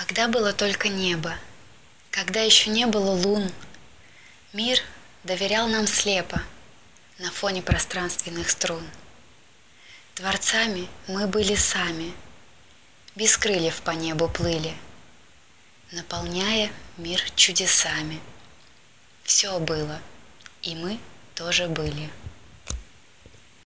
Когда было только небо, когда еще не было лун, мир доверял нам слепо на фоне пространственных струн. Творцами мы были сами, без крыльев по небу плыли, наполняя мир чудесами. Все было, и мы тоже были.